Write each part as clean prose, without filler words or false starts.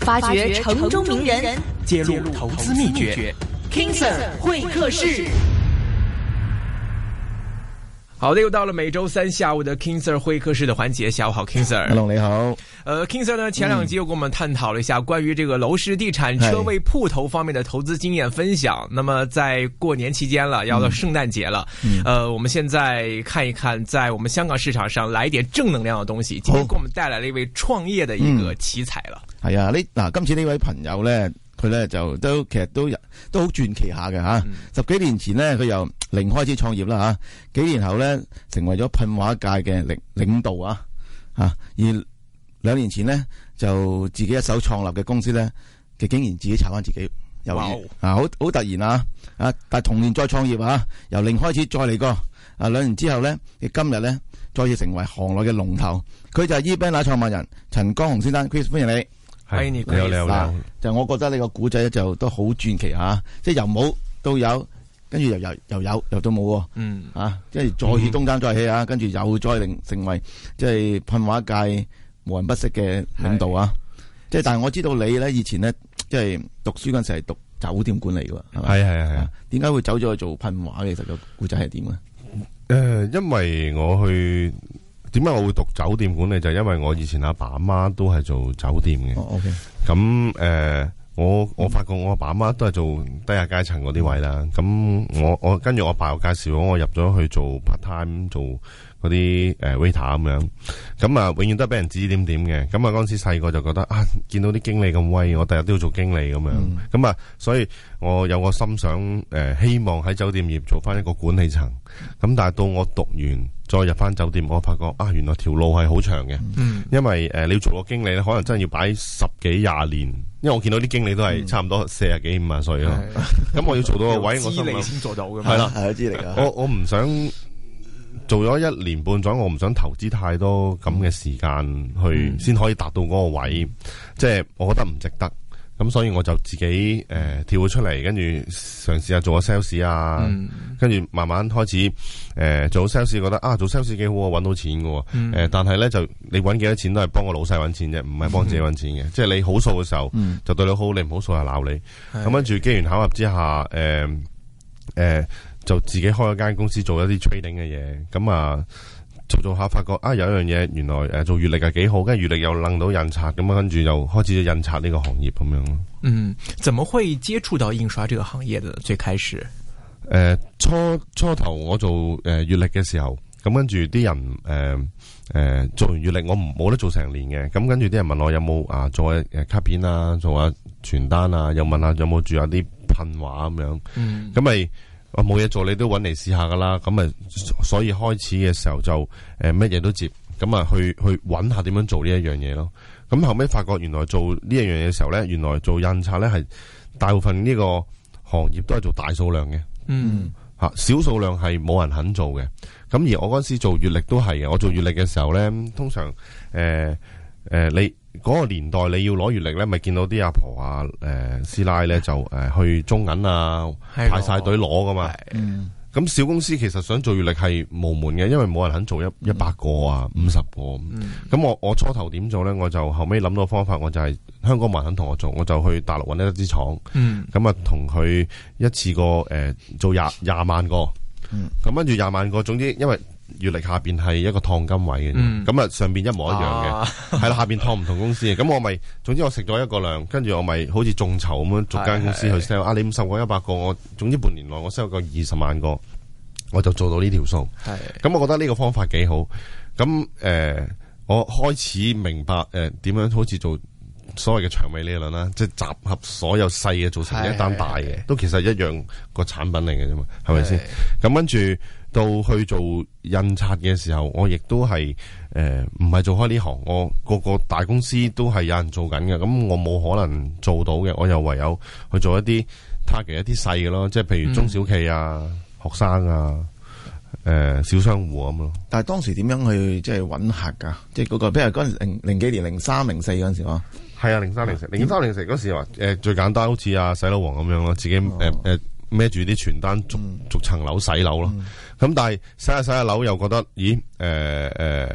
發掘城中名人， 揭露投資秘訣。 King Sir 會客室。 好的，又到了每周三下午的 King Sir 會客室的環節。下午好 ，King Sir。Hello， 你好。 King Sir 呢，前兩集又跟我們探討了一下關於這個樓市、地產、車位、鋪頭方面的投資經驗分享。那麼在過年期間了，要到聖誕節了，我們現在看一看，在我們香港市場上來一點正能量的東西。今天給我們帶來了一位創業的一個奇才了。 係啊，今次呢位朋友呢，佢呢就其實都好傳奇下嘅吓。10幾年前呢，佢由零開始創業啦吓，幾年後呢，成為咗噴畫界嘅領導啊，而2年前呢，就自己一手創立嘅公司呢，佢竟然自己炒翻自己魷魚好突然啊！但係同年再創業啊，由零開始再嚟過2年之後呢，佢今日呢，再次成為行內嘅龍頭。佢就係 eBanner 創辦人陳江雄先生 ，Chris 歡迎你。 歡迎你， 你好。就我覺得呢個古仔就都好傳奇吓，即係由冇到有，跟住又有又到冇，即係再起東山再起啊，跟住又再成為即係噴畫界無人不識嘅領導啊！即係但係我知道你咧以前咧即係讀書嗰陣時係讀酒店管理嘅，係咪？係。點解會走咗去做噴畫嘅？其實個古仔係點咧？ 因為點解我會讀酒店管理？就係因為我以前阿爸阿媽都係做酒店嘅。 OK。 咁我發覺我阿爸阿媽都係做低下階層嗰啲位啦。咁我跟住我爸又介紹我入咗去做 part time 做嗰啲waiter 咁樣。咁啊，永遠都係俾人指指點點嘅。咁啊，嗰陣時細個就覺得見到啲經理咁威，我第日都要做經理咁樣。咁啊，所以我有個心想希望喺酒店業做翻一個管理層。咁但係到我讀完再入翻酒店，我發覺原來條路係好長嘅。因為你要做個經理咧，可能真係要擺10幾20年。因為我見到啲經理都係差唔多40幾50歲咯。咁我要做到個位，我心諗先做到嘅。 係啦， 係資歷啊。 我唔想做咗1年半載，我唔想投資太多咁嘅時間去先可以達到嗰個位，即係我覺得唔值得。咁所以我就自己跳咗出嚟，跟住嘗試下做個 sales 啊，跟住慢慢開始做 sales， 覺得做 sales 幾好啊，搵到錢嘅。但係咧就你搵幾多錢都係幫個老細搵錢啫，唔係幫自己搵錢嘅。即係你好數嘅時候就對你好，你唔好數就鬧你。咁跟住機緣巧合之下，就自己開咗間公司做一啲 trading 嘅嘢。咁啊做下發覺有一樣嘢，原來做月曆係幾好，跟住月曆又楞到印刷，咁啊跟住又開始咗印刷呢個行業咁樣咯。 怎麼會接觸到印刷這個行業的？最開始初頭我做月曆嘅時候，咁跟住啲人做完月曆我冇得做成年嘅，咁跟住啲人問我有冇做卡片啊，做下傳單啊，又問下有冇住下啲噴畫咁樣，咁咪。我冇嘢做，你都揾嚟試下噶啦，咁咪所以開始嘅時候就乜嘢都接，咁啊去揾下點樣做呢一樣嘢咯。咁後尾發覺原來做呢一樣嘢嘅時候咧，原來做印刷咧係大部分呢個行業都係做大數量嘅，小數量係冇人肯做嘅。咁而我嗰時做月曆都係嘅，我做月曆嘅時候咧，通常你嗰個年代你要攞月曆咧，咪見到啲阿婆啊、師奶咧就去中銀啊排晒隊攞噶嘛。咁小公司其實想做月曆係無門嘅，因為冇人肯做100個啊、50個。咁我初頭點做咧？我就後尾諗到方法，我就係香港冇人肯同我做，我就去大陸揾一支廠。咁啊同佢一次過做廿萬個。咁跟住20萬個，總之因為月曆下邊係一個燙金位嘅，咁上邊一模一樣嘅，係啦，下邊燙唔同公司嘅，咁我咪，總之我食咗一個量，跟住我咪好似眾籌咁樣逐間公司去 sell，你50個100個，我總之半年內我 sell 個20萬個，我就做到呢條數。咁我覺得呢個方法幾好，咁我開始明白點樣好似做所謂嘅長尾理論啦，即係集合所有細嘅做成一單大嘅，都其實一樣個產品嚟嘅啫嘛，係咪先？咁跟住到去做印刷嘅時候，我亦都係唔係做開呢行，我個大公司都係有人做緊嘅，咁我冇可能做到嘅，我又唯有去做一啲 target 一啲細嘅咯，即係譬如中小企啊、學生啊、小商戶咁咯。但係當時點樣去即係揾客㗎？即係嗰個，譬如嗰陣零幾年03、04嗰陣時啊。係啊，03、04嗰時話最簡單，好似洗樓王咁樣咯，自己孭住啲傳單逐層樓洗樓咯。咁但係洗下樓又覺得，咦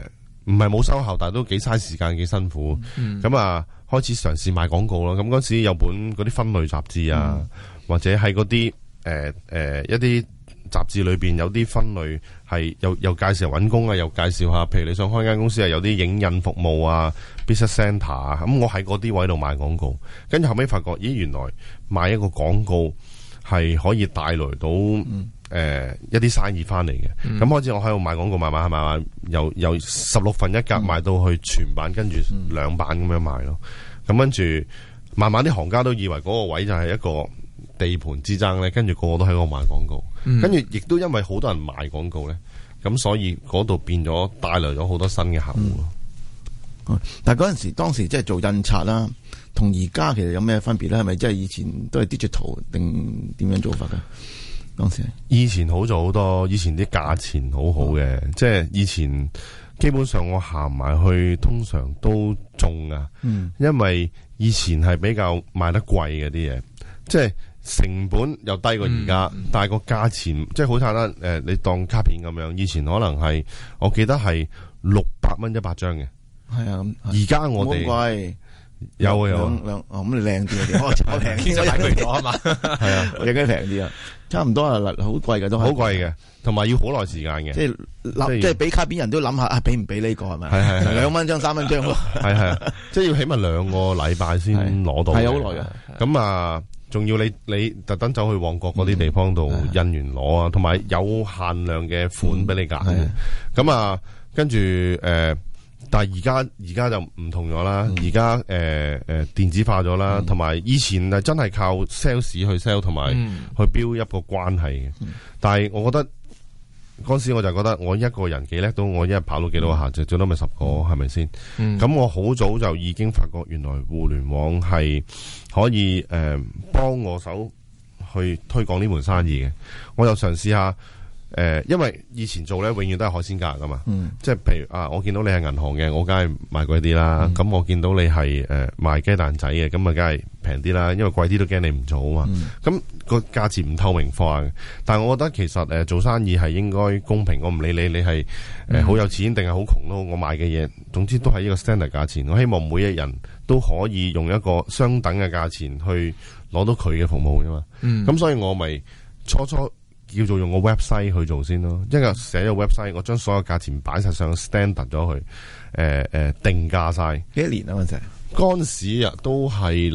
唔係冇收效，但係都幾嘥時間，幾辛苦。咁啊，開始嘗試賣廣告啦。咁嗰時有本嗰啲分類雜誌啊，或者喺嗰啲一啲雜誌裏邊有啲分類係又介紹揾工啊，又介紹下，譬如你想開間公司啊，有啲影印服務啊 ，business centre 啊，咁我喺嗰啲位度賣廣告，跟住後尾發覺，咦，原來賣一個廣告係可以帶來到一啲生意翻嚟嘅。咁開始我喺度賣廣告，慢慢由16份一格賣到去全版，跟住2版咁樣賣咯。咁跟住慢慢啲行家都以為嗰個位就係一個地盤之爭咧，跟住個個都喺度賣廣告，跟住亦都因為好多人賣廣告咧，咁所以嗰度變咗帶來咗好多新嘅客戶咯。 但係嗰陣時，當時即係做印刷啦，同而家其實有咩分別咧？係咪即係以前都係 digital 定點樣做法嘅？當時以前好做好多，以前啲價錢好好嘅，即係以前基本上我行埋去通常都中啊，因為以前係比較賣得貴嘅啲嘢，即係成本又低過而家，但係個價錢即係好簡單。你當卡片咁樣，以前可能係我記得係600蚊100張嘅， 係啊， 而家我哋貴有兩咁你靚啲我平啲就大佢咗啊嘛， 係啊，有幾平啲啊？差唔多啊，好貴嘅都係好貴嘅，同埋要好耐時間嘅， 即係俾卡片人都諗下啊，俾唔俾呢個係咪？ 係 2蚊張3蚊張咯， 係即係要起碼2個禮拜先攞到， 係好耐嘅。 咁啊，仲要你特登走去旺角嗰啲地方度印完攞啊，同埋有限量嘅款俾你揀。咁啊，跟住但係而家就唔同咗啦，而家電子化咗啦，同埋以前係真係靠 sales 去 sell 同埋去 build 一個關係嘅。但係我覺得嗰時我就覺得我一個人幾叻到，我一日跑到幾多個客就最多咪10個，係咪先？咁我好早就已經發覺原來互聯網係可以幫我手去推廣呢門生意嘅。我又嘗試下。因為以前做咧，永遠都係海鮮價噶嘛，即係譬如啊，我見到你係銀行嘅，我梗係賣貴啲啦。咁我見到你係賣雞蛋仔嘅，咁啊梗係平啲啦。因為貴啲都驚你唔做啊嘛。咁個價錢唔透明化嘅，但係我覺得其實做生意係應該公平。我唔理你係好有錢定係好窮咯，我賣嘅嘢總之都係呢個 standard 價錢。我希望每一人都可以用一個相等嘅價錢去攞到佢嘅服務啫嘛。咁所以我咪初叫做用個 website 去做先咯，因為寫咗 website， 我將所有價錢擺晒上 standard 咗去，定價晒。 幾多年啊？ 嗰陣時啊，都係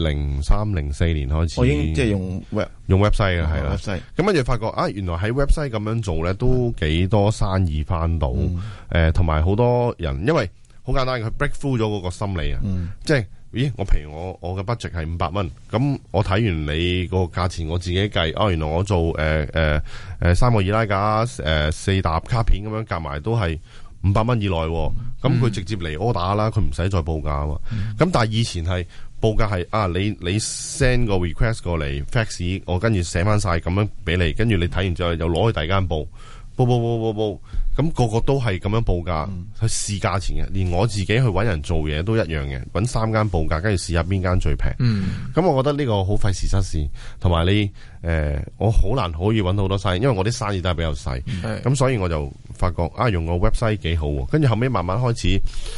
03、04年開始。我已經即係用 website 嘅係啦。咁跟住發覺啊，原來喺 website 咁樣做咧，都幾多生意翻到。同埋好多人，因為好簡單，佢 break through 咗嗰個心理啊，即係。咦，我譬如我嘅 budget 係500蚊，咁我睇完你個價錢，我自己計，原來我做3個易拉架4沓卡片咁樣夾埋都係500蚊以內，咁佢直接嚟 order 啦，佢唔使再報價啊嘛。咁但係以前係報價係你 send 個 request 過嚟 fax， 我跟住寫翻晒咁樣俾你，跟住你睇完之後又攞去第二間報。咁個個都係咁樣報價去試價錢嘅，連我自己去搵人做嘢都一樣嘅，搵3間報價，跟住試下邊間最平。咁我覺得呢個好費時失事，同埋你我好難可以搵到好多生意，因為我啲生意都係比較細。咁所以我就發覺用個 website 幾好，跟住後尾慢慢開始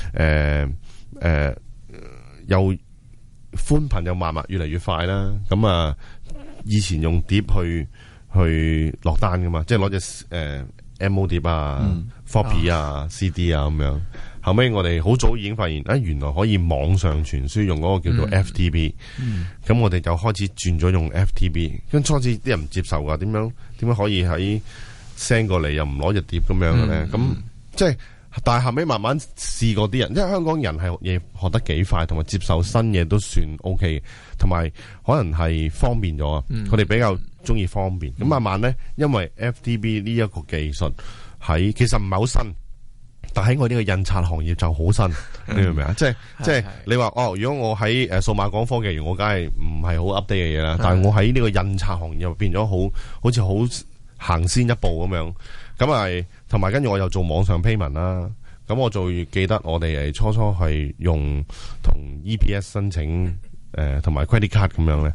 又寬頻又慢慢越嚟越快啦。咁啊，以前用碟去落單噶嘛，即係攞隻MO 碟啊、floppy 啊、CD 啊咁樣。後尾我哋好早已經發現，原來可以網上傳輸用嗰個叫做 FTP。咁我哋就開始轉咗用 FTP。跟初次啲人唔接受噶，點樣可以喺 send 過嚟又唔攞隻碟咁樣嘅咧？咁即係，但係後尾慢慢試過啲人，因為香港人係嘢學得幾快，同埋接受新嘢都算 OK，同埋可能係方便咗啊。佢哋比較中意方便，咁慢慢咧，因為 FTP 呢一個技術其實唔係好新，但喺我呢個印刷行業就好新，你明唔明啊？即係你話如果我喺數碼港科技園，我梗係唔係好 update 嘅嘢啦。但係我喺呢個印刷行業變咗好似好行先一步咁樣，咁係同埋跟住我又做網上 payment 啦。咁我最記得我哋初係用同 EPS 申請同埋 credit card 咁樣咧。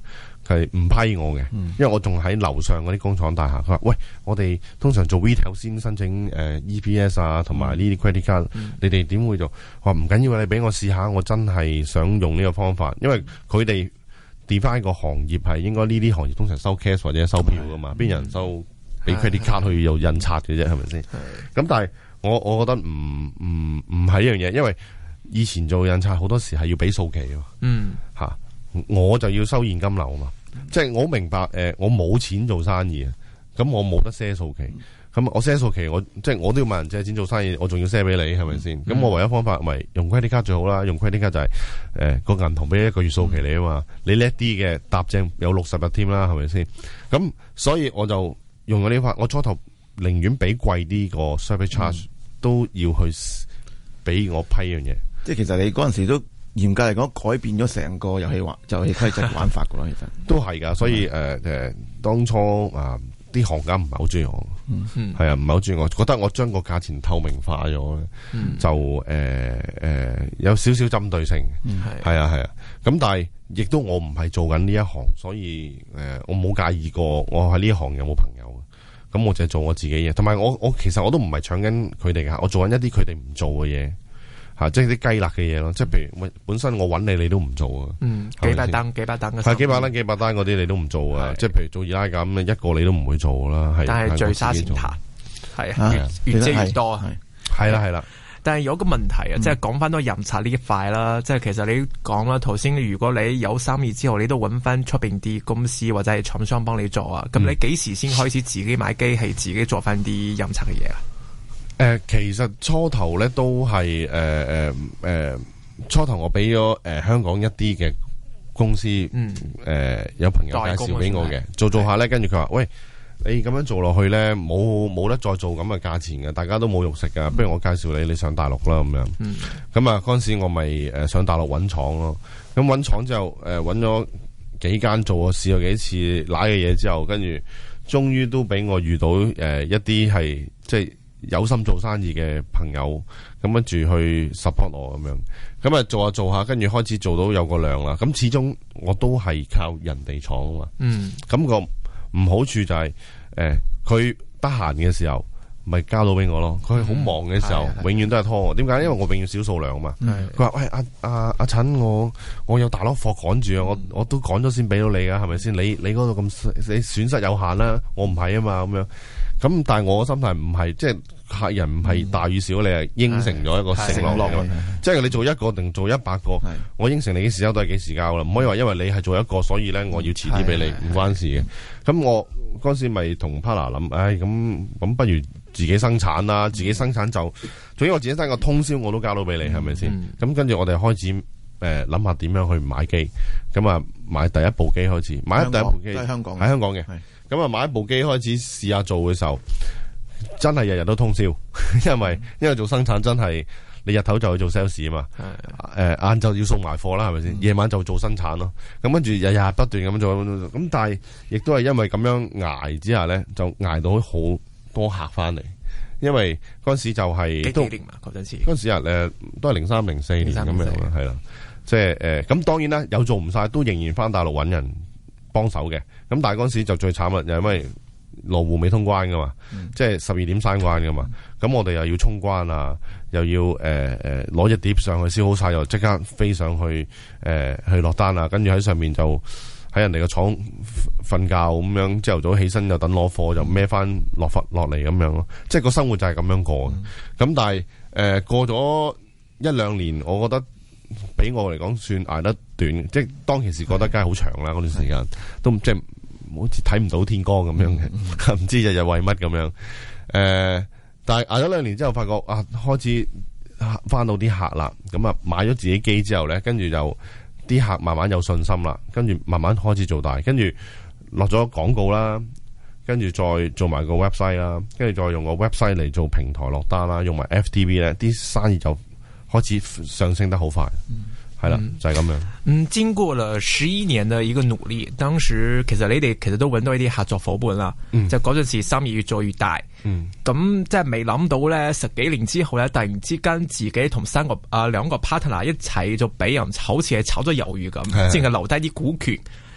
佢係唔批我嘅，因為我仲喺樓上嗰啲工廠大廈。佢話：喂，我哋通常做 retail 先申請EPS 啊，同埋呢啲 credit card，你哋點會做？我話唔緊要，你俾我試下，我真係想用呢個方法，因為佢哋 define 個行業係應該呢啲行業通常收 cash 或者收票噶嘛，邊有人收俾 credit card 去有印刷嘅啫，係咪先？咁但係我覺得唔係一樣嘢，因為以前做印刷好多時係要俾數期吓，我就要收現金流嘛，即係我明白我冇錢做生意啊，咁我冇得賒數期，咁我賒數期即係我都要問人借錢做生意，我仲要賒俾你，係咪先？咁我唯一方法咪用 credit card 最好啦，用 credit card 就係個銀行俾一個月數期你啊嘛，你叻啲嘅搭正有60日添啦，係咪先？咁所以我就用咗呢法，我初頭寧願俾貴啲個 service charge，都要去俾我批樣嘢。 即係其實你嗰陣時都嚴格嚟講改變咗成個遊戲規則玩法噶咯，其實都係噶。所以當初啲行家唔係好中意我，係啊，唔係好中意我，覺得我將個價錢透明化咗咧，就有少少針對性，係啊。咁但係亦都我唔係做緊呢一行，所以我冇介意過我喺呢一行有冇朋友。咁我就係做我自己嘢，同埋我其實我都唔係搶緊佢哋噶，我做緊一啲佢哋唔做嘅嘢。即係啲雞肋嘅嘢咯，即係譬如本身我揾你都唔做啊， 幾百單嘅， 係幾百單嗰啲你都唔做啊，即係譬如做二奶咁，一個你都唔會做啦，係。 但係聚沙成塔，係越借越多啊， 係啦。 但係有個問題啊，即係講翻多印刷呢一塊啦，即係其實你講啦，頭先如果你有生意之後，你都揾翻出邊啲公司或者係廠商幫你做啊，咁你幾時先開始自己買機器，自己做翻啲印刷嘅嘢啊？ 其實初頭咧都係初頭我俾咗香港一啲嘅公司，有朋友介紹俾我嘅，做下咧，跟住佢話：喂，你咁樣做落去咧，冇得再做咁嘅價錢嘅，大家都冇肉食噶，不如我介紹你上大陸啦咁樣。咁啊嗰陣時我咪上大陸揾廠咯，咁揾廠之後揾咗幾間做，試過幾次揦嘅嘢之後，跟住終於都俾我遇到一啲係即係有心做生意嘅朋友，咁跟住去 support 我咁樣，咁啊做下，跟住開始做到有個量啦。咁始終我都係靠人哋廠啊嘛。咁個唔好處就係佢得閒嘅時候咪交到俾我咯，佢好忙嘅時候永遠都係拖我。點解？因為我永遠少數量啊嘛。佢話：喂，阿陳，我有大攞貨趕住啊，我都趕咗先俾到你噶，係咪先？你嗰度咁你損失有限啦，我唔係啊嘛，咁樣。咁但係我嘅心態唔係，即係客人唔係大與少，你係應承咗一個承諾嘅，即係你做一個定做100個，我應承你幾時交都係幾時交啦，唔可以話因為你係做一個，所以咧我要遲啲俾你，唔關事嘅。咁我嗰時咪同 partner 諗，咁不如自己生產啦，自己生產就，總之我自己生個通宵我都交到俾你，係咪先？咁跟住我哋開始諗下點樣去買機，咁啊買第一部機開始，買第一部機喺香港嘅。咁啊，買一部機開始試下做嘅時候，真係日日都通宵，因為做生產真係你日頭就去做 sales 啊嘛，晏晝要送埋貨啦，係咪先？夜晚就做生產咯。咁跟住日日不斷咁做，咁但係亦都係因為咁樣捱之下咧，就捱到好多客翻嚟。因為嗰陣時就係幾年嘛，嗰陣時都係03、04年咁樣啦，係啦，即係咁當然啦，有做唔晒都仍然翻大陸揾人幫手嘅，咁但係嗰陣時就最慘啦，又因為羅湖未通關噶嘛，即係12點閂關噶嘛，咁我哋又要衝關啊，又要攞隻碟上去燒好晒，又即刻飛上去去落單啊，跟住喺上面就喺人哋個廠瞓覺咁樣，朝頭早起身又等攞貨，就孭翻落嚟咁樣咯，即係個生活就係咁樣過嘅。咁但係過咗1-2年，我覺得俾我嚟講算捱得短，即係當其時覺得梗係好長啦，嗰段時間都即係好似睇唔到天光咁樣嘅，唔知日日為乜咁樣。但係捱咗2年之後，發覺開始翻到啲客啦，咁啊買咗自己機之後咧，跟住就啲客慢慢有信心啦，跟住慢慢開始做大，跟住落咗廣告啦，跟住再做埋個 website 啦，跟住再用個 website 嚟做平台落單啦，用埋 FTV 咧，啲生意就開始上升得好快，係啦，就係咁樣。 經過了11年的一個努力，當時其實你哋其實都揾到一啲合作伙伴啦，就嗰陣時生意越做越大，咁即係未諗到咧10幾年之後咧，突然之間自己同2個 partner 一齊就俾人好似係炒咗魷魚咁，淨係留低啲股權。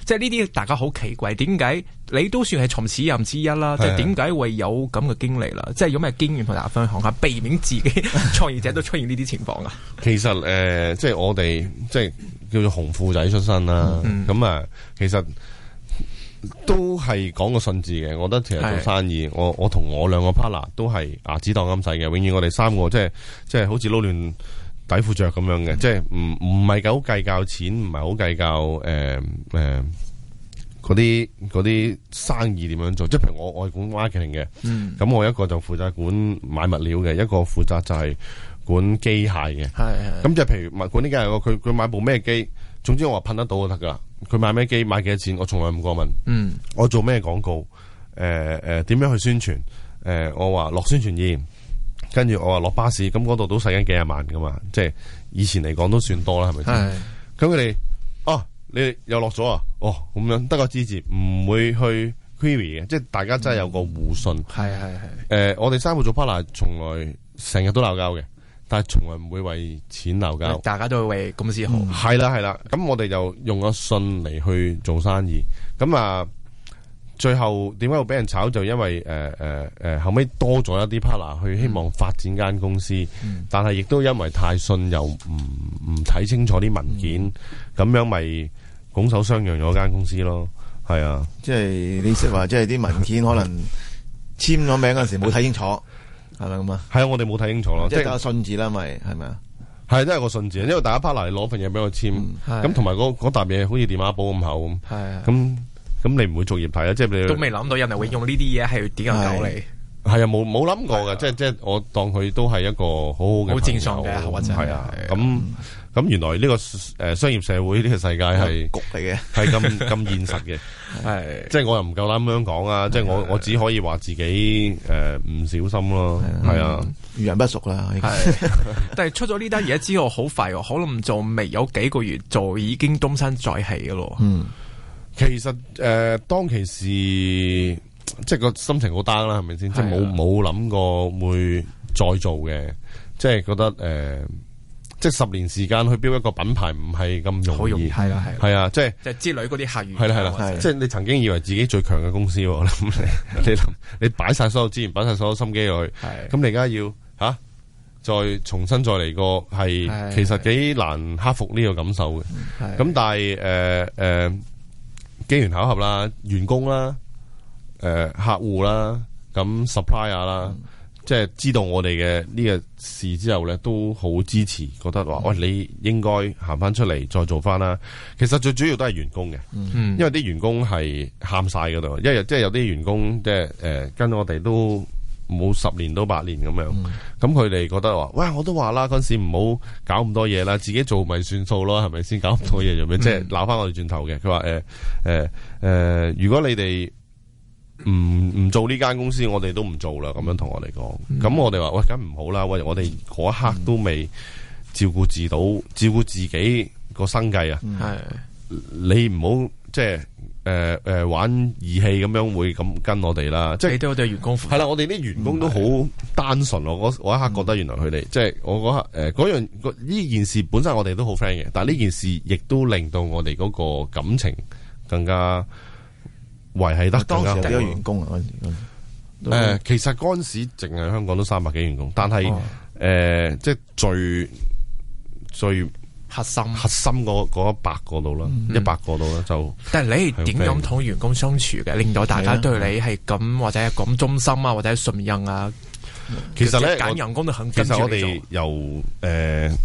即係呢啲大家好奇怪，點解你都算係從始人之一啦？即係點解會有咁嘅經歷啦？即係有咩經驗同大家分享下，避免自己創業者都出現呢啲情況啊？ 其實即係我哋即係叫做紅褲仔出身啦，咁啊，其實都係講個信字嘅。我覺得其實做生意，我同我兩個 partner 都係牙子當金使嘅。永遠我哋三個即係好似撈亂底褲着咁樣嘅，即係唔係好計較錢，唔係好計較嗰啲生意點樣做。即係譬如我係管 marketing 嘅，咁我一個就負責管買物料嘅，一個負責就係管機械嘅。咁即係譬如管啲機械，佢買部咩機，總之我話噴得到就得噶啦。佢買咩機，買幾多錢，我從來唔過問。我做咩廣告，點樣去宣傳，我話落宣傳頁，跟住我話落巴士，咁嗰度都使緊幾廿萬噶嘛，即係以前嚟講都算多啦，係咪先？咁佢哋你哋又落咗啊？咁樣得個支持，唔會去 query 嘅，即係大家真係有個互信。我哋三個做 partner，從來成日都鬧交嘅。但係從來唔會為錢鬧交， 大家都會為公司好。 係啦，咁我哋就用個信嚟去做生意。咁啊，最後點解會俾人炒？就因為後尾多咗一啲 partner 去希望發展間公司，但係亦都因為太信又唔睇清楚啲文件，咁樣咪拱手相讓咗間公司咯。係啊， 即係你識話，即係啲文件可能簽咗名嗰陣時冇睇清楚。係咪咁啊？ 係啊，我哋冇睇清楚咯， 即係個信字啦，咪係咪啊？ 係都係個信字，因為大家 partner 你攞份嘢俾我簽，咁同埋嗰沓嘢好似電話簿咁厚咁，咁你唔會逐頁睇啊？即係你都未諗到人哋會用呢啲嘢係點樣搞你？ 係啊，冇諗過嘅，即係我當佢都係一個好好嘅好正常嘅，或者係啊咁原來呢個商業社會呢個世界係局嚟嘅， 係咁現實嘅，係即係我又唔夠膽咁樣講啊！即係我只可以話自己唔小心咯，係啊， 遇人不淑啦。 但係出咗呢單嘢之後，好快喎，可能就未有幾個月就已經東山再起嘅咯。 其實當其時即係個心情好 down 啦，係咪先？即係冇諗過會再做嘅，即係覺得即係10年時間去標一個品牌唔係咁容易，係啊，即係之類嗰啲客源， 係啦，即係你曾經以為自己最強嘅公司，你擺晒所有資源，擺晒所有心機落去，咁你而家要再重新再嚟過，係其實幾難克服呢個感受嘅。咁但係機緣巧合啦，員工啦，客戶啦，咁 supplier 啦。即係知道我哋嘅呢個事之後咧，都好支持，覺得話喂，你應該行翻出嚟再做翻啦。其實最主要都係員工嘅，因為啲員工係喊晒嗰度，因為即係有啲員工即係跟我哋都冇10年都8年咁樣，咁佢哋覺得話，喂，我都話啦，嗰陣時唔好搞咁多嘢啦，自己做咪算數咯，係咪先？搞咁多嘢做咩？即係鬧翻我哋轉頭嘅。佢話如果你哋唔做呢間公司，我哋都唔做啦。咁樣同我哋講，咁我哋話喂，梗唔好啦。喂，我哋嗰一刻都未照顧自己個生計啊。你唔好即係玩義氣咁樣會咁跟我哋啦。即係你對我哋員工負責。 係啦，我哋啲員工都好單純。我一刻覺得原來佢哋即係我嗰刻嗰樣呢件事本身我哋都好 friend 嘅，但係呢件事亦都令到我哋嗰個感情更加維繫得更加好。當時幾多員工啊？其實嗰陣時淨係香港都300幾員工，但係即係最核心嗰100個度啦，100個度啦就。但係你係點樣同員工相處嘅，令到大家對你係咁或者係咁忠心啊，或者係信任啊？其實咧，揀人工都肯跟住你做。其實我哋由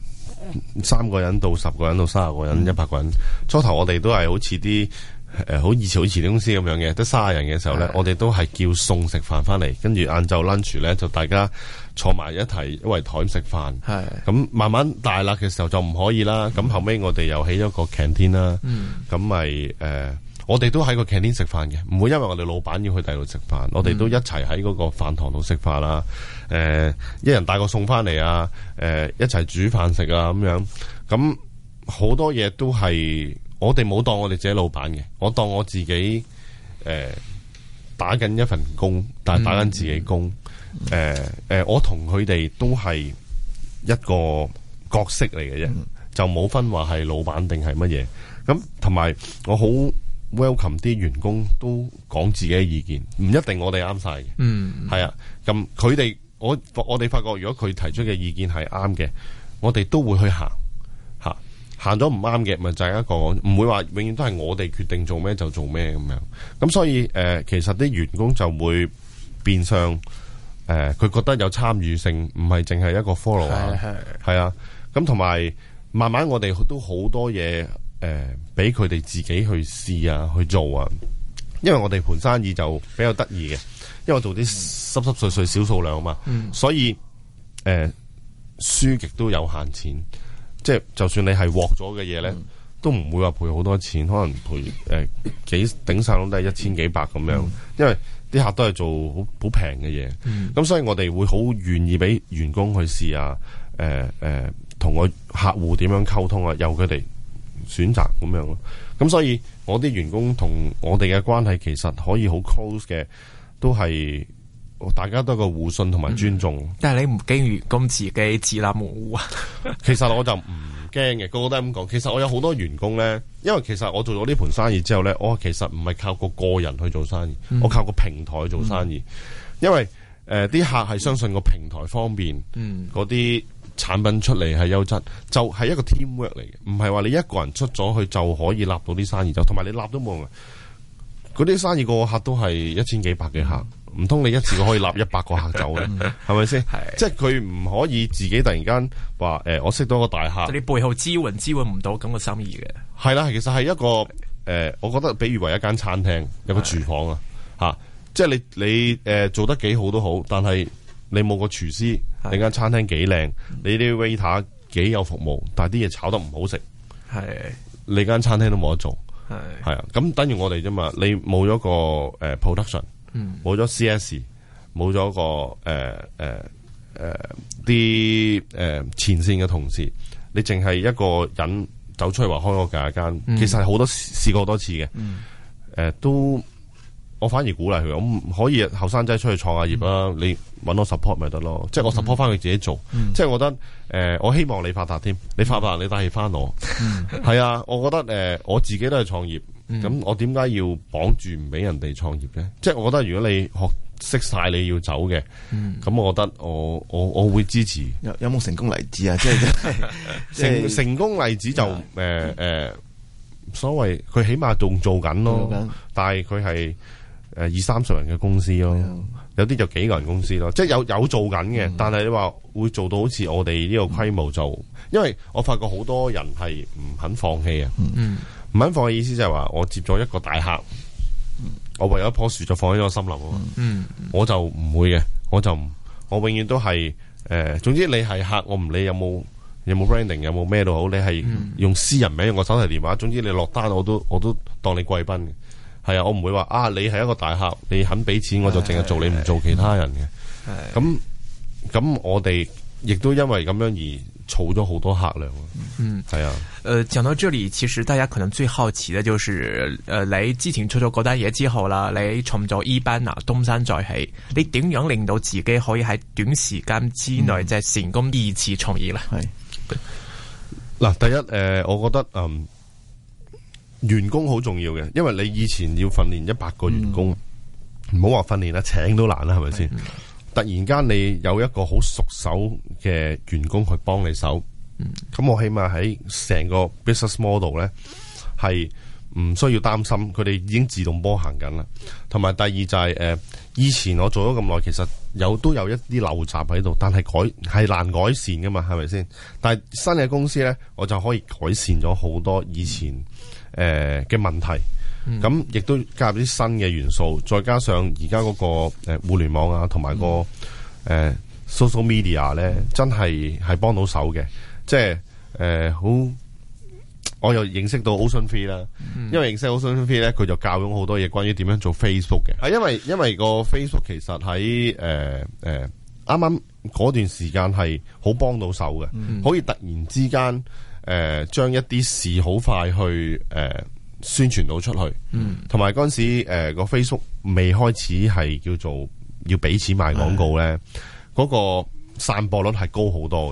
3個人到10個人到30個人100個人，初頭我哋都係好似啲。好以前啲公司咁樣嘅，得30人嘅時候咧，我哋都係叫餸食飯翻嚟，跟住晏晝 lunch 咧就大家坐埋一齊一圍台食飯。咁慢慢大啦嘅時候就唔可以啦。咁後尾我哋又起咗個 canteen 啦。咁咪我哋都喺個 canteen 食飯嘅，唔會因為我哋老闆要去第度食飯，我哋都一齊喺嗰個飯堂度食飯啦。一人帶個餸翻嚟啊，一齊煮飯食啊咁樣。咁好多嘢都係。我哋冇當我哋自己老闆嘅，我當我自己打緊一份工，但係打緊自己工。我同佢哋都係一個角色嚟嘅啫， 就冇分話係老闆定係乜嘢。咁同埋我好 welcome 啲員工都講自己嘅意見，唔一定我哋啱晒嘅。係啊，咁佢哋我哋發覺，如果佢提出嘅意見係啱嘅，我哋都會去行吓。行咗唔啱嘅，咪就係一個唔會話永遠都係我哋決定做咩就做咩咁樣。咁所以其實啲員工就會變相佢覺得有參與性，唔係淨係一個 follow 啊。係啊，咁同埋慢慢我哋都好多嘢俾佢哋自己去試啊，去做啊。因為我哋盤生意就比較得意嘅，因為我做啲濕濕碎小數量啊嘛，所以輸極都有限錢。即係就算你係獲咗嘅嘢咧，都唔會話賠好多錢，可能賠幾頂晒都係1000幾百咁樣。因為啲客都係做好平嘅嘢，咁所以我哋會好願意俾員工去試啊，同個客戶點樣溝通啊，由佢哋選擇咁樣咯。咁所以我啲員工同我哋嘅關係其實可以好 close 嘅，都係大家都有個互信同埋尊重。 但係你唔驚員工自己自立門戶啊？ 其實我就唔驚嘅，個個都係咁講。其實我有好多員工咧，因為其實我做咗呢盤生意之後咧，我其實唔係靠個人去做生意，我靠個平台去做生意。因為啲客係相信個平台方便，嗰啲產品出嚟係優質，就係一個 teamwork 嚟嘅，唔係話你一個人出咗去就可以立到啲生意，就同埋你立都冇用。嗰啲生意個客都係1000幾百嘅客。唔通你一次過可以立100個客走咧？係咪先？即係佢唔可以自己突然間話我識到個大客， 你背後支援唔到咁個生意嘅。係啦，其實係一個我覺得比喻為一間餐廳有個廚房啊，吓，即係你做得幾好都好，但係你冇個廚師，你間餐廳幾靚，你啲 waiter 幾有服務，但係啲嘢炒得唔好食，你間餐廳都冇得做。係啊，咁等於我哋啫嘛，你冇咗個production。冇咗 CS， 冇咗個啲前線嘅同事，你淨係一個人走出去話開個間，其實係好多試過好多次嘅。都我反而鼓勵佢，我可以後生仔出去創下業啦，你搵我 support 咪得咯，即係我 support 翻佢自己做。即係我覺得我希望你發達添，你發達你帶起翻我。係啊，我覺得我自己都係創業。咁我點解要綁住唔俾人哋創業嘅？即係我覺得如果你識晒你要走嘅，咁我覺得我會支持。 有冇成功例子啊？即係成功例子就所謂佢起碼仲做緊咯，但係佢係20-30人嘅公司咯，有啲就幾個人公司咯，即係有做緊嘅，但係你話會做到好似我哋呢個規模就，因為我發覺好多人係唔肯放棄啊。唔肯放嘅意思就係話，我接咗一個大客，我為咗一棵樹就放喺個森林啊。我就唔會嘅，我永遠都係總之你係客，我唔理有冇 branding， 有冇咩都好，你係用私人名，用個手提電話，總之你落單我都當你貴賓嘅。係啊，我唔會話你係一個大客，你肯俾錢我就淨係做，你唔做其他人嘅。咁我哋亦都因為咁樣而儲咗好多客量。係啊。 講到這裏，其實大家可能最好奇嘅就是你之前出咗嗰單嘢之後啦，你創咗 eBanner 東山再起，你點樣令到自己可以喺短時間之內即係成功2次創業咧？ 嗱，第一我覺得員工好重要嘅，因為你以前要訓練100個員工，唔好話訓練啦，請都難啦，係咪先？突然間你有一個好熟手嘅員工去幫你手。咁我起碼喺成個 business model 咧係唔需要擔心，佢哋已經自動波行緊啦。同埋第二就係以前我做咗咁耐，其實都有一啲陋習喺度，但係難改善噶嘛，係咪先？但係新嘅公司咧，我就可以改善咗好多以前嘅問題。咁亦都加入啲新嘅元素，再加上而家嗰個互聯網啊，同埋個social media 咧，真係幫到手嘅。即係好，我又認識到 Ocean3 啦，因為認識 Ocean3 咧，佢就教咗好多嘢關於點樣做 Facebook 嘅。因為個 Facebook 其實喺啱啱嗰段時間係好幫到手嘅，可以突然之間將一啲事好快去宣傳到出去，同埋嗰陣時個 Facebook 未開始係叫做要俾錢賣廣告咧，嗰個散播率係高好多嘅。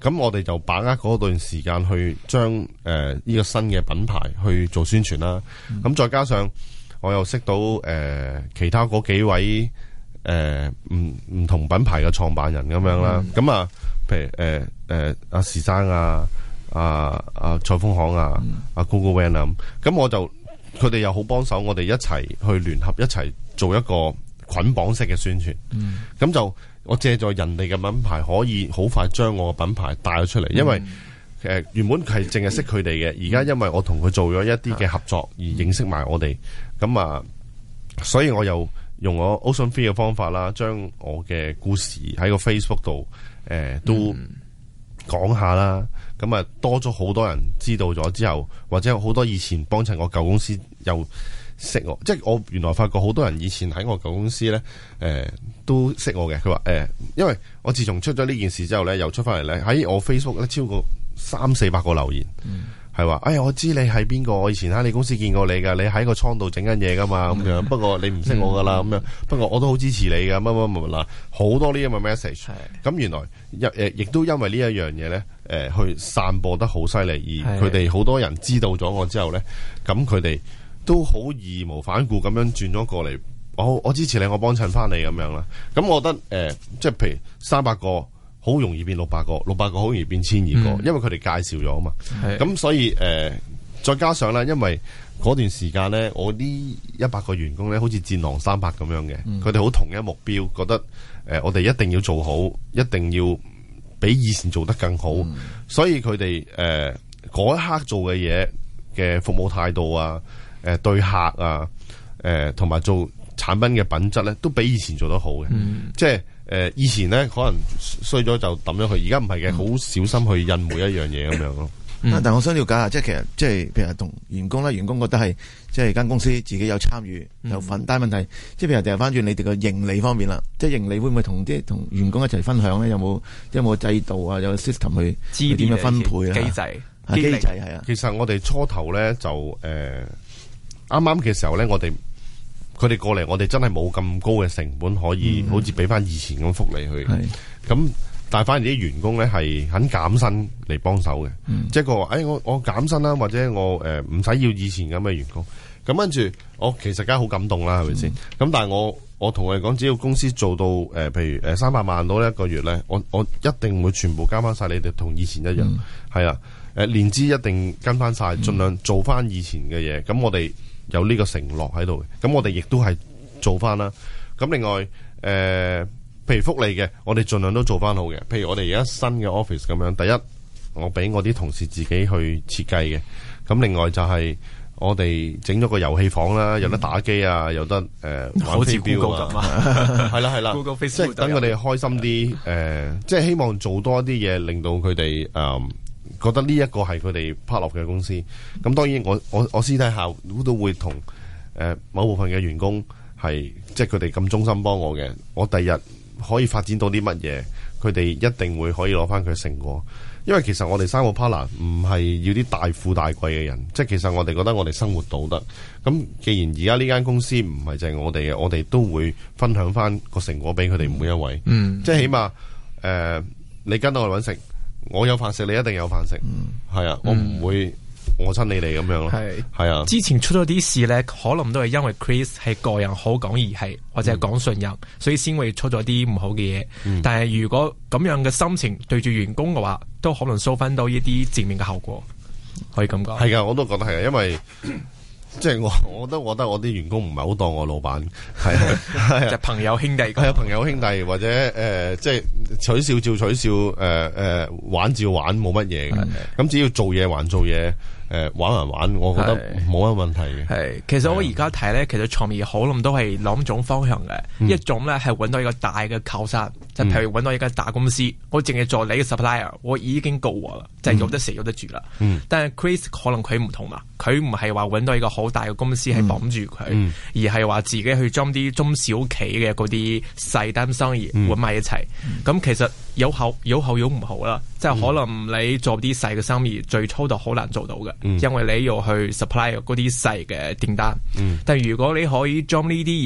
咁我哋就把握嗰段時間去將呢個新嘅品牌去做宣傳啦。咁再加上我又識到其他嗰幾位唔同品牌嘅創辦人咁樣啦。咁啊，譬如阿時生啊、蔡豐行啊、阿 Google Van 啊，咁我就佢哋又好幫手，我哋一齊去聯合一齊做一個捆綁式嘅宣傳。咁就我借助人哋嘅品牌，可以好快將我嘅品牌帶咗出嚟，因為原本係淨係識佢哋嘅，而家因為我同佢做咗一啲嘅合作而認識埋我哋，咁啊，所以我又用我 Ocean Free 嘅方法啦，將我嘅故事喺個 Facebook 度都講下啦，咁啊多咗好多人知道咗之後，或者好多以前幫襯我舊公司又識我，即係我原來發覺好多人以前喺我舊公司咧，都識我嘅。佢話因為我自從出咗呢件事之後咧，又出翻嚟咧，喺我 Facebook 咧超過300-400個留言，係話哎呀我知你係邊個，我以前喺你公司見過你噶，你喺個倉度整緊嘢噶嘛咁樣，不過你唔識我噶啦咁樣，不過我都好支持你噶乜乜乜嗱，好多呢咁嘅 message。咁原來亦都因為呢一樣嘢咧，去散播得好犀利，而佢哋好多人知道咗我之後咧，咁佢哋都好義無反顧咁樣轉咗過嚟，我支持你，我幫襯翻你咁樣啦。咁我覺得即係譬如300個好容易變600個，600個好容易變1200個，因為佢哋介紹咗啊嘛。咁所以再加上咧，因為嗰段時間咧，我呢100個員工咧，好似戰狼300咁樣嘅，佢哋好同一目標，覺得我哋一定要做好，一定要比以前做得更好。所以佢哋嗰一刻做嘅嘢嘅服務態度啊，對客啊，同埋做產品嘅品質咧，都比以前做得好嘅。即係以前咧可能衰咗就抌咗佢，而家唔係嘅，好小心去印每一樣嘢咁樣咯。 但我想了解下，即係其實即係譬如同員工咧，員工覺得係即係間公司自己有參與有份，但係問題即係譬如掉翻轉你哋個盈利方面啦，即係盈利會唔會同員工一齊分享咧？有冇制度啊？有 system 去點樣分配啊？機制係啊。 其實我哋初頭咧就啱啱嘅時候咧，佢哋過嚟，我哋真係冇咁高嘅成本可以好似俾翻以前咁福利去。咁但係反而啲員工咧係肯減薪嚟幫手嘅，即係佢話我減薪啦，或者我唔使要以前咁嘅員工。咁跟住我其實梗係好感動啦，係咪先？咁但係我同佢哋講，只要公司做到譬如300萬到一個月咧，我一定會全部加翻晒你哋同以前一樣。係啊，年資一定跟翻晒，盡量做翻以前嘅嘢。咁我哋有呢個承諾喺度嘅，咁我哋亦都係做翻啦。咁另外譬如福利嘅，我哋盡量都做翻好嘅。譬如我哋而家新嘅 office 咁樣，第一我俾我啲同事自己去設計嘅。咁另外就係我哋整咗個遊戲房啦，有得打機啊，有得玩飛鏢啊，係啦係啦，即係等佢哋開心啲。即係希望做多一啲嘢，令到佢哋覺得呢一個係佢哋 part of 嘅公司。咁當然我私底下都會同某部分嘅員工係即係佢哋咁忠心幫我嘅，我第日可以發展到啲乜嘢，佢哋一定會可以攞翻佢成果。因為其實我哋3個 partner 唔係要啲大富大貴嘅人，即係其實我哋覺得我哋生活到得。咁既然而家呢間公司唔係淨係我哋嘅，我哋都會分享翻個成果俾佢哋每一位。即係起碼你跟到我哋搵食，我有飯食，你一定有飯食。係啊，我唔會我親你哋咁樣咯。係啊， 之前出咗啲事咧，可能都係因為 Chris 係個人好講義氣，或者係講信任，所以先會出咗啲唔好嘅嘢。但係如果咁樣嘅心情對住員工嘅話，都可能收翻到一啲正面嘅效果，可以咁講。 係噶，我都覺得係啊，因為即係我都覺得我啲員工唔係好當我老闆，係啊， 就朋友兄弟， 係啊，朋友兄弟或者即係取笑照取笑，玩照玩，冇乜嘢嘅。咁只要做嘢還做嘢。玩還玩，我覺得冇乜問題嘅。 係，其實我而家睇咧，其實創業可能都係兩種方向嘅。一種咧係揾到一個大嘅靠山，就譬如揾到一間大公司，我淨係做你嘅 supplier，我已經夠我啦，就係有得食有得住啦。但係 Chris 可能佢唔同嘛，佢唔係話揾到一個好大嘅公司係綁住佢，而係話自己去將啲中小企嘅嗰啲細單生意揾埋一齊。咁其實有好有唔好啦，即係可能你做啲細嘅生意，最初就好難做到嘅。因為你要去 supply 嗰啲細嘅訂單，但係如果你可以將呢啲嘢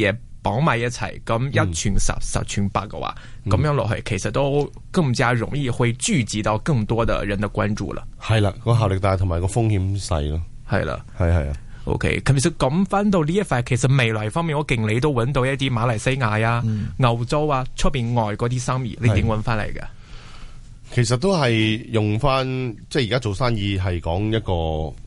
綁埋一齊，咁一傳十，十傳百嘅話，咁樣落去，其實都更加容易會聚集到更多的人的關注啦。 係啦，個效力大同埋個風險細咯。 係啦， 係啊。 OK，其實講翻到呢一塊，其實未來方面，我勁你都揾到一啲馬來西亞啊、歐洲啊出邊外嗰啲生意，你點揾翻嚟嘅？ 其實都係用翻，即係而家做生意係講一個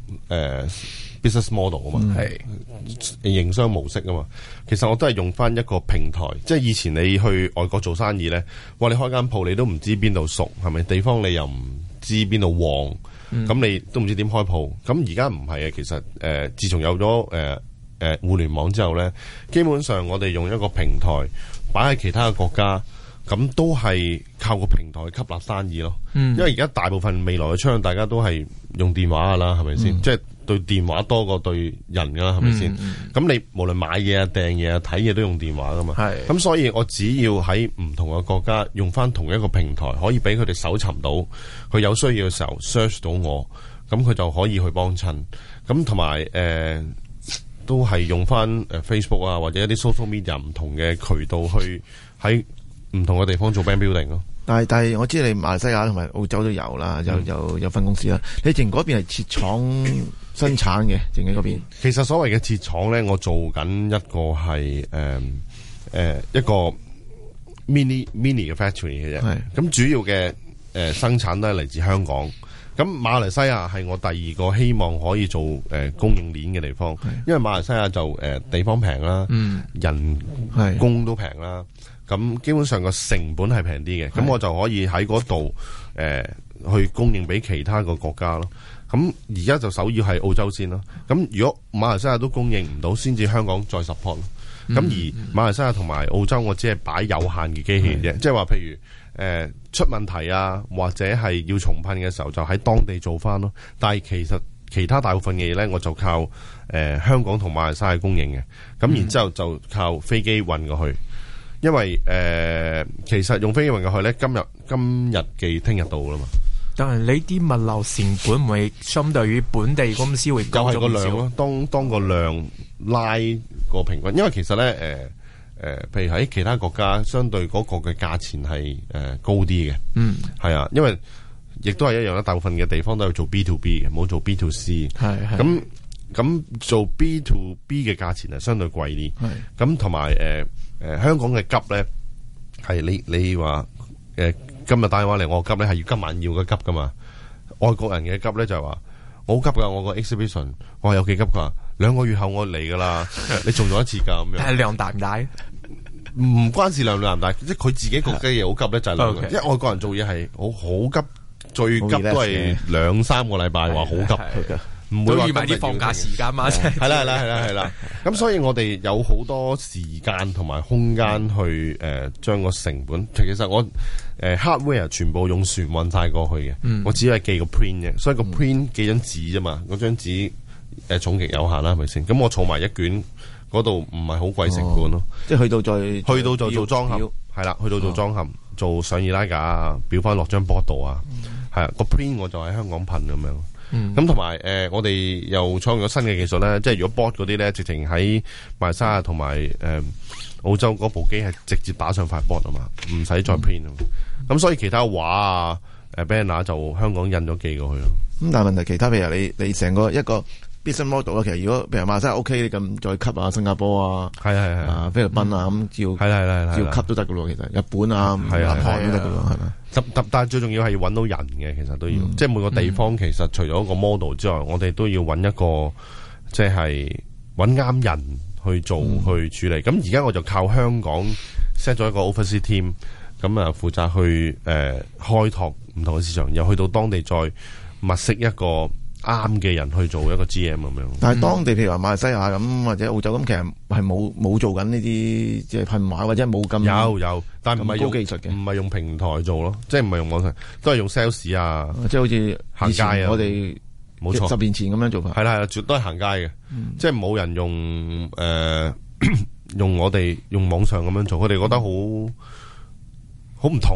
business model 啊嘛，係營商模式啊嘛。其實我都係用翻一個平台，即係以前你去外國做生意咧，哇！你開間鋪你都唔知邊度熟，係咪？地方你又唔知邊度旺。咁你都唔知點開鋪，咁而家唔係啊！其實自從有咗互聯網之後咧，基本上我哋用一個平台擺喺其他嘅國家，咁都係靠個平台吸納生意咯。因為而家大部分未來嘅趨向，大家都係用電話噶啦，係咪先？即係對電話多過對人噶啦，係咪先？咁你無論買嘢啊、訂嘢啊、睇嘢都用電話噶嘛。咁所以我只要喺唔同嘅國家用翻同一個平台，可以俾佢哋搜尋到，佢有需要嘅時候 search 到我，咁佢就可以去幫襯。咁同埋都係用翻Facebook 啊，或者一啲 social media 唔同嘅渠道去喺唔同嘅地方做 brand building 咯。 但係我知你馬來西亞同埋澳洲都有啦，有分公司啦。你淨嗰邊係設廠生產嘅，淨喺嗰邊。 其實所謂嘅設廠咧，我做緊一個係一個 mini 嘅 factory 嘅啫。咁主要嘅生產都係嚟自香港。咁馬來西亞係我第二個希望可以做供應鏈嘅地方，因為馬來西亞就地方平啦，人工都平啦。咁基本上個成本係平啲嘅，咁我就可以喺嗰度去供應俾其他個國家咯。咁而家就首要係澳洲先咯。咁如果馬來西亞都供應唔到，先至香港再 support 咯。咁而馬來西亞同埋澳洲，我只係擺有限嘅機器啫，即係話譬如出問題啊，或者係要重噴嘅時候，就喺當地做翻咯。但係其實其他大部分嘅嘢咧，我就靠香港同馬來西亞供應嘅。咁然之後就靠飛機運過去。因為其實用飛機運過去咧，今日寄聽日到啦嘛。 但係你啲物流成本會相對於本地公司會高咗唔少。又係個量咯，當個量拉個平均，因為其實咧譬如喺其他國家，相對嗰個嘅價錢係高啲嘅。係啊，因為亦都係一樣啦。大部分嘅地方都係做 B to B 嘅，冇做 B to C。咁做 B to B 嘅價錢係相對貴啲。咁同埋香港嘅急咧，係你話今日打電話嚟，我急咧係要今晚要嘅急噶嘛。外國人嘅急咧就係話我好急噶，我個 exhibition 我話有幾急噶，2個月後我嚟噶啦，你仲做一次噶咁樣。係量大唔大？唔關事量大唔大，即係佢自己個嘅嘢好急咧就係量。因為外國人做嘢係好急，最急都係2-3個禮拜話好急。唔會預埋啲放假時間嘛？係啦。咁所以我哋有好多時間同埋空間去將個成本。其實我hardware 全部用船運晒過去嘅，我只係寄個 print 嘅，所以個 print 寄張紙啫嘛。嗰張紙重極有限啦，係咪先？咁我儲埋一卷嗰度唔係好貴成本咯。即係去到就做裝嵌，係啦，去到做裝嵌，做上易拉架啊，裱翻落張 board 度啊，係啊，個 print 我就喺香港噴咁樣。咁同埋我哋又創咗新嘅技術咧，即係如果 board 嗰啲咧，直情喺馬來西亞同埋澳洲嗰部機係直接打上塊 board 啊嘛，唔使再 print 啊。咁所以其他畫啊banner 就香港印咗寄過去咯。咁但係問題其他譬如你成個一個 business model 啦，其實如果譬如馬來西亞 OK，你咁再吸啊新加坡啊，係菲律賓啊咁照吸都得噶咯。其實日本啊、南韓都得噶咯，係咪？但係最重要係要揾到人嘅，其實都要，即係每個地方其實除咗一個 model 之外，我哋都要揾一個即係揾啱人去做去處理。咁而家我就靠香港 set 咗一個 overseas team，咁啊負責去開拓唔同嘅市場，又去到當地再物色一個啱嘅人去做一個 GM 咁樣。但係當地譬如話馬來西亞咁或者澳洲咁，其實係冇做緊呢啲即係噴畫或者冇咁有，但係唔係用高技術嘅，唔係用平台做咯，即係唔係用網上，都係用 sales 啊，即係好似行街啊。我哋冇錯，10年前咁樣做法係啦，絕對係行街嘅，即係冇人用用我哋用網上咁樣做，佢哋覺得好唔同嘅。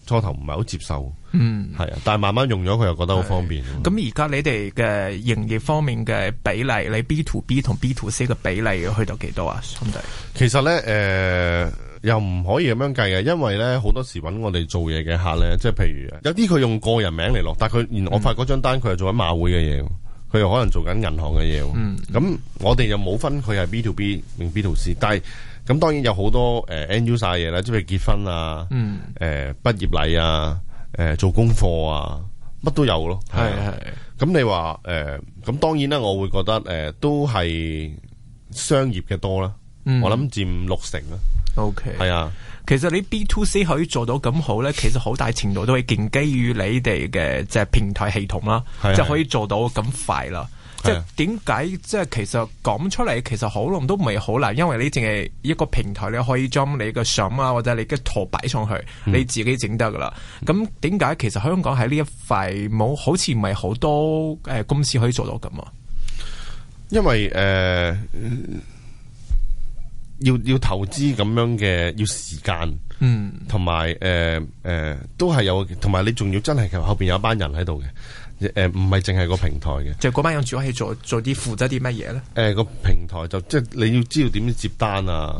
初頭唔係好接受，係啊，但係慢慢用咗佢又覺得好方便。 咁而家你哋嘅營業方面嘅比例，你 B to B 同 B to C 嘅比例去到幾多啊？兄弟， 其實咧又唔可以咁樣計嘅，因為咧好多時揾我哋做嘢嘅客咧，即係譬如有啲佢用個人名嚟落，但係佢我發嗰張單佢係做緊馬會嘅嘢，佢又可能做緊銀行嘅嘢。咁我哋又冇分佢係 B to B 定 B to C， 但係咁當然有好多end user 嘅嘢啦，即係結婚啊，畢業禮啊，做功課啊，乜都有咯。係。咁你話咁當然啦，我會覺得都係商業嘅多啦。我諗佔60%啦。OK， 係啊， 其實你 B to C 可以做到咁好咧，其實好大程度都係建基於你哋嘅即係平台系統啦，即係可以做到咁快啦。即係點解即係其實講出嚟，其實可能都唔係好難，因為你淨係一個平台，你可以將你嘅相啊或者你嘅圖擺上去，你自己整得噶啦。咁點解其實香港喺呢一塊冇好似唔係好多公司可以做到咁啊？ 因為要投資咁樣嘅，要時間，同埋都係有，同埋你仲要真係其實後邊有一班人喺度嘅，唔係淨係個平台嘅。即係嗰班人主要係做啲負責啲乜嘢咧？ 個平台就即係你要知道點樣接單啊，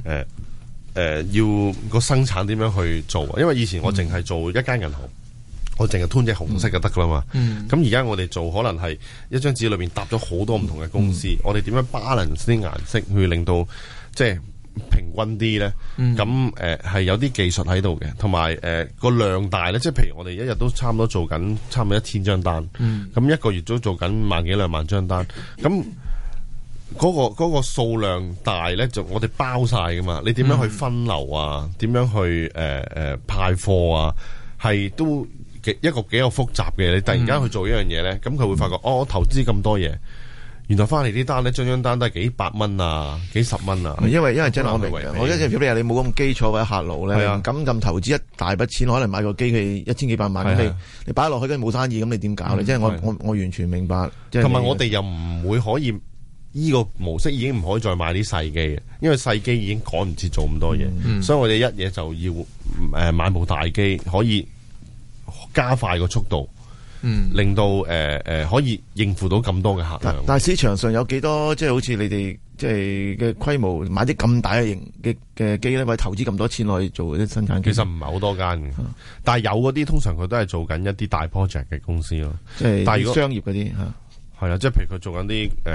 要個生產點樣去做啊？因為以前我淨係做一間銀行，我淨係吞隻紅色就得噶啦嘛。咁而家我哋做可能係一張紙裏邊搭咗好多唔同嘅公司，我哋點樣 balance 啲顏色去令到即係平均啲咧，咁係有啲技術喺度嘅，同埋個量大咧，即係譬如我哋一日都差唔多做緊差唔多1000張單，咁一個月都做緊1萬幾2萬張單，咁嗰個數量大咧，就我哋包晒噶嘛，你點樣去分流啊？點樣去派貨啊？係都一個幾有複雜嘅，你突然間去做一樣嘢咧，咁佢會發覺我投資咁多嘢。原來翻嚟啲單咧，張單都係幾百蚊啊，幾10蚊啊。因為真係我明嘅，我一隻譬如你冇咁基礎或者客路咧，咁投資一大筆錢，可能買個機器1000幾百萬，咁你擺落去跟住冇生意，咁你點搞咧？即係我完全明白。同埋我哋又唔會可以呢個模式已經唔可以再買啲細機嘅，因為細機已經趕唔切做咁多嘢，所以我哋一嘢就要買部大機，可以加快個速度。令到可以應付到咁多嘅客量。但係市場上有幾多即係好似你哋即係嘅規模買啲咁大嘅型嘅機咧，或者投資咁多錢去做啲生產機？其實唔係好多間嘅，但係有嗰啲通常佢都係做緊一啲大 project 嘅公司咯。即係但係商業嗰啲係啦，即係譬如佢做緊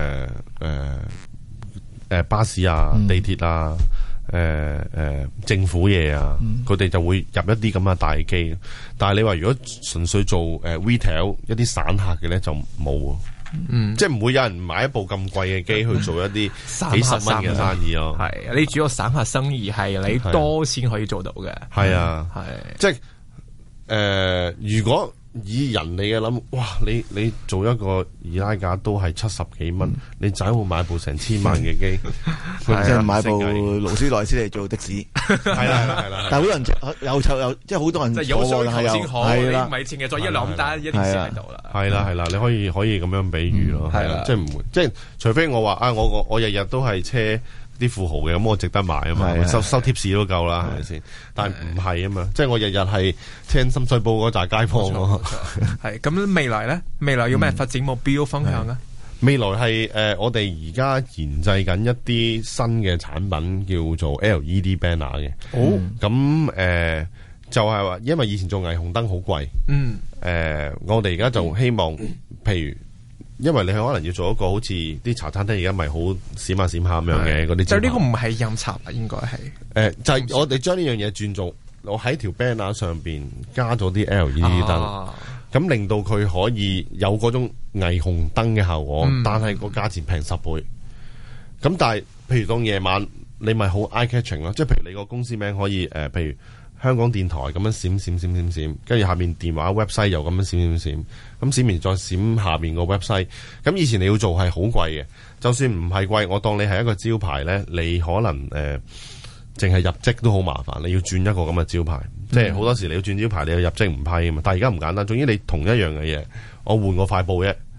啲巴士啊、地鐵啊。政府嘢啊，佢哋就會入一啲咁嘅大機，但係你話如果純粹做retail 一啲散客嘅咧就冇，即係唔會有人買一部咁貴嘅機去做一啲幾10蚊嘅生意咯。係你主要散客生意係你多先可以做到嘅。係啊，係即係如果以人哋嘅諗，哇！你做一個易拉架都係70幾蚊，你仔會買部成1000萬嘅機，即係買部勞斯萊斯嚟做的士，係啦。但係好多人有即係好多人即係有需求先好，你唔係淨係做一兩單一定先喺度啦。係啦，你可以咁樣比喻咯，係啦，即係唔會，即係除非我話我日日都係車啲富豪嘅，咁我值得買啊嘛，收貼士都夠啦，係咪先？但係唔係啊嘛，即係我日日係聽深水埗嗰扎街坊咯。係咁未來咧，未來有咩發展目標分享啊？未來係我哋而家研製緊一啲新嘅產品，叫做 LED banner 嘅。咁就係話，因為以前做霓虹燈好貴。我哋而家就希望，譬如。因為你可能要做一個好似啲茶餐廳而家咪好閃下閃下咁樣嘅嗰啲，就呢個唔係飲茶啊，應該係就係我哋將呢樣嘢轉做，我喺條 banner 上邊加咗啲 LED 燈，咁令到佢可以有嗰種霓虹燈嘅效果，但係個價錢平10倍。咁但係譬如當夜晚你咪好 eye catching 咯，即係譬如你個公司名可以譬如香港電台咁樣閃，跟住下面電話 website 又咁樣閃，咁閃完再閃下面個 website。咁以前你要做係好貴嘅，就算唔係貴，我當你係一個招牌咧，你可能淨係入職都好麻煩，你要轉一個咁嘅招牌，即係好多時你要轉招牌，你要入職唔批啊嘛。但係而家唔簡單，總之你同一樣嘅嘢，我換個塊布啫，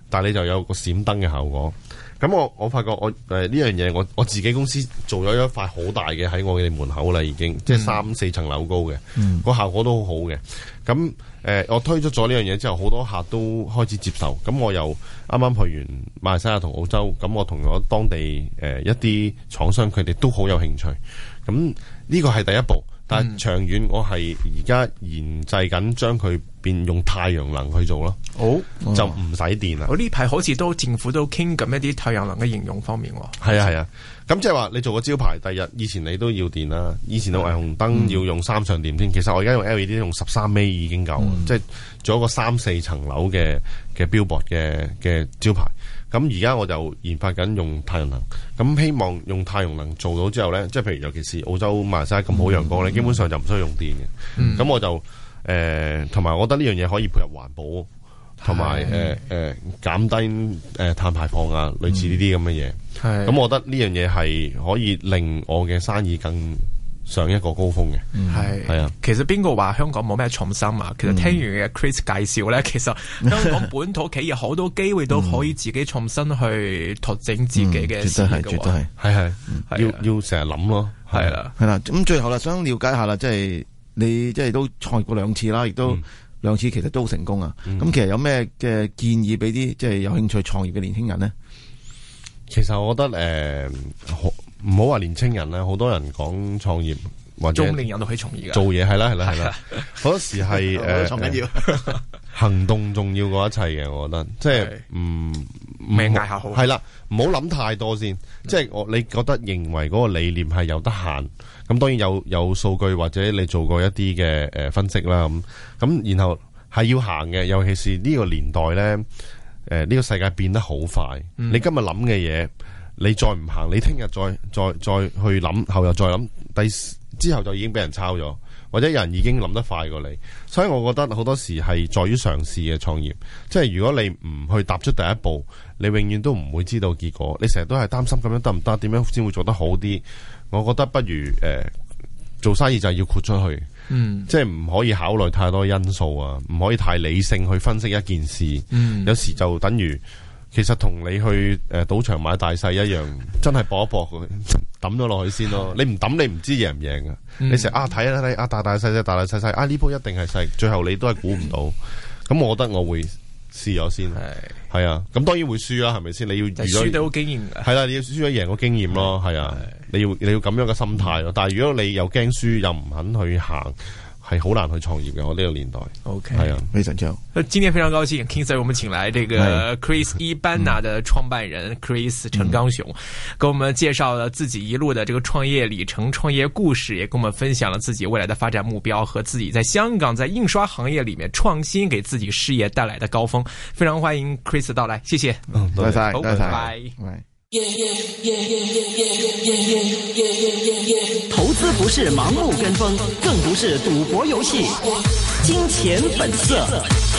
但係你就有個閃燈嘅效果。咁我發覺我呢樣嘢我自己公司做咗一塊好大嘅喺我哋門口啦，已經即係3-4層樓高嘅，個效果都好好嘅。咁我推出咗呢樣嘢之後，好多客都開始接受。咁我又啱啱去完馬來西亞同澳洲，咁我同咗當地一啲廠商，佢哋都好有興趣。咁呢個係第一步。但係長遠，我係而家研製緊將佢變用太陽能去做咯。就唔使電啦。 我呢排好似政府都傾緊一啲太陽能嘅應用方面喎。 係啊。咁即係話你做個招牌，第日以前你都要電啦。以前嘅霓虹燈要用3上電添。其實我而家用 LED 用13尾已經夠，即係做一個3-4層樓嘅billboard嘅招牌。咁而家我就研發緊用太陽能，咁希望用太陽能做到之後咧，即係譬如尤其是澳洲馬來西亞咁好陽光咧，基本上就唔需要用電嘅。咁我就同埋我覺得呢樣嘢可以配合環保，同埋減低碳排放啊，類似呢啲咁嘅嘢。咁我覺得呢樣嘢係可以令我嘅生意更上一個高峰嘅。係啊， 其實邊個話香港冇咩創新啊？其實聽完嘅 Chris 介紹咧，其實香港本土企業好多機會都可以自己創新去拓展自己嘅事業嘅。 絕對係， 要成日諗咯。 係啦。咁最後啦，想了解下啦，即係你即係都創業過2次啦，亦都2次其實都好成功啊。咁其實有咩嘅建議俾啲即係有興趣創業嘅年輕人呢？ 其實我覺得唔好話年青人啦，好多人講創業或者中年人都可以從業嘅， 做嘢係啦，好多時係緊要行動重要過一切嘅，我覺得即係命嗌下好係啦，唔好諗太多先。即係你覺得認為嗰個理念係有得行，咁當然有數據或者你做過一啲嘅分析啦，咁然後係要行嘅，尤其是呢個年代咧，呢個世界變得好快，你今日諗嘅嘢。你再唔行，你聽日再去諗，後日再諗，之後就已經俾人抄咗，或者有人已經諗得快過你。所以我覺得好多時係在於嘗試嘅創業。即係如果你唔去踏出第一步，你永遠都唔會知道結果。你成日都係擔心咁樣得唔得？點樣先會做得好啲？我覺得不如做生意就係要豁出去，即係唔可以考慮太多因素啊，唔可以太理性去分析一件事。有時就等於。其實同你去賭場買大細一樣，真係搏一搏佢抌咗落去先咯。你唔抌你唔知贏唔贏㗎。你成日睇大大細細大大細細呢鋪一定係細，最後你都係估唔到。咁我覺得我會試咗先。係啊，咁當然會輸啦，係咪先？你要輸到經驗㗎。 係啦，你要輸咗贏個經驗咯。係啊，你要咁樣嘅心態咯。但係如果你又驚輸又唔肯去行。係好難去創業嘅，我呢個年代。 OK， 係啊， 非常之好。 今天非常高興 King Sir 我們請來這個 Chris Ebana 的創辦人 Chris 陳剛雄，給我們介紹了自己一路的這個創業里程、創業故事，也跟我們分享了自己未來的發展目標和自己在香港在印刷行業裏面創新給自己事業帶來的高峰。非常歡迎 Chris 的到來，謝謝。 多謝， 拜拜。 投資不是盲目跟風，更不是賭博遊戲。金錢本色。